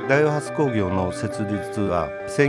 大和ハウス工業の設立は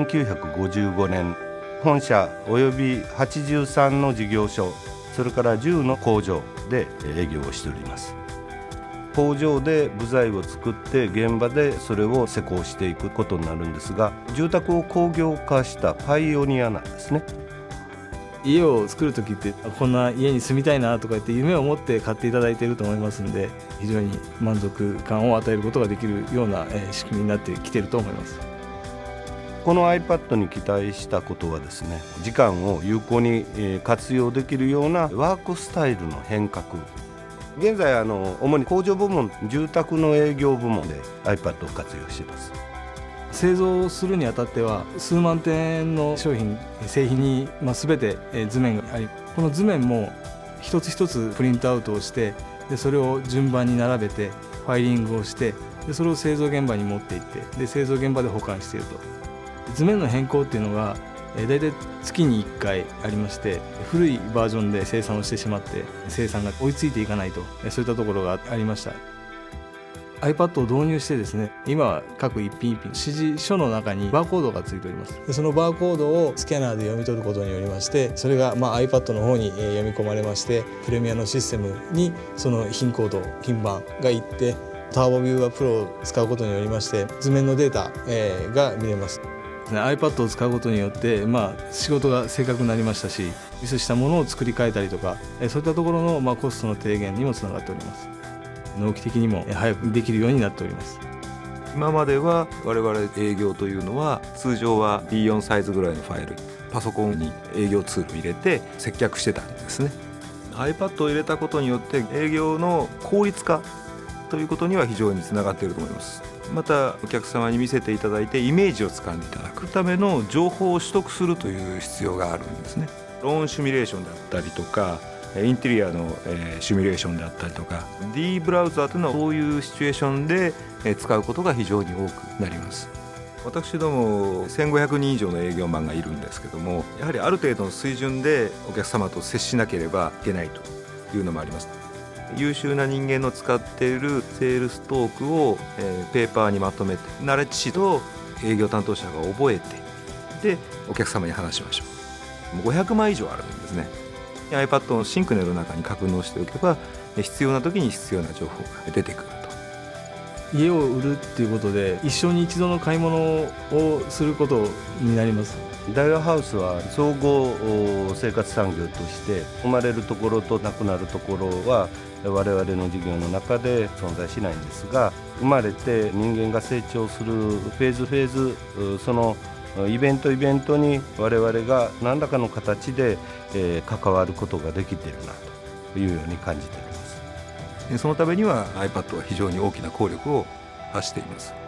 1955年、本社および83の事業所、それから10の工場で営業をしております。工場で部材を作って現場でそれを施工していくことになるんですが、住宅を工業化したパイオニアなんですね。 家を作るときってこんな家に住みたいなとか言って夢を持って買っていただいていると思いますので、非常に満足感を与えることができるような仕組みになってきていると思います。 この iPad に期待したことはですね、時間を有効に活用できるようなワークスタイルの変革。現在主に工場部門、住宅の営業部門で iPad を活用しています。 製造するにあたっては数万点の商品、製品に全て図面があり、この図面も一つ一つプリントアウトをして、でそれを順番に並べてファイリングをして、でそれを製造現場に持っていって、で製造現場で保管していると。図面の変更っていうのがだいたい月に1回ありまして、古いバージョンで生産をしてしまって生産が追いついていかないと、そういったところがありました。 iPad を導入してですね、今は各一品一品指示書の中にバーコードがついております。でそのバーコードをスキャナーで読み取ることによりまして、それがiPad の方に読み込まれまして、プレミアのシステムにその品コード、品番がいって、ターボビューアープロを使うことによりまして図面のデータが見れます。iPad を使うことによって、仕事が正確になりましたし、ミスしたものを作り変えたりとか、そういったところのコストの低減にもつながっております。納期的にも早くできるようになっております。 今までは我々営業というのは通常は B4 サイズぐらいのファイル、パソコンに営業ツールを入れて接客してたんですね。 iPad を入れたことによって営業の効率化ということには非常につながっていると思います。またお客様に見せていただいてイメージをつかんでいただくための情報を取得するという必要があるんですね。ローンシミュレーションだったりとかインテリアのシミュレーションだったりとか D ブラウザーというのはそういうシチュエーションで使うことが非常に多くなります。私ども1500人以上の営業マンがいるんですけども、やはりある程度の水準でお客様と接しなければいけないというのもあります。優秀な人間の使っているセールストークをペーパーにまとめてナレッジシートを営業担当者が覚えて、でお客様に話しましょう。もう500枚以上あるんですね。iPad のシンクネルの中に格納しておけば必要な時に必要な情報が出てくると。 家を売るっていうことで一生に一度の買い物をすることになります。 大和ハウスは総合生活産業として生まれるところとなくなるところは我々の事業の中で存在しないんですが、生まれて人間が成長するフェーズ、そのイベントに我々が何らかの形で関わることができているなというように感じています。 そのためには iPad は非常に大きな効力を発しています。